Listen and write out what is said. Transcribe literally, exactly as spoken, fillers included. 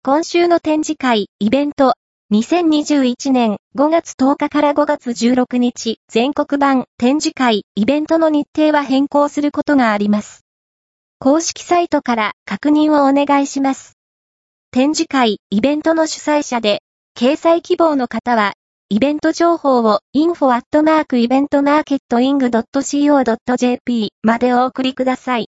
今週の展示会、イベント、にせんにじゅういちねんごがつとおかからごがつじゅうろくにち、全国版、展示会、イベントの日程は変更することがあります。公式サイトから確認をお願いします。展示会、イベントの主催者で、掲載希望の方は、イベント情報を インフォ アットマーク イベントマーケットイング ドット シーオー ドット ジェーピー までお送りください。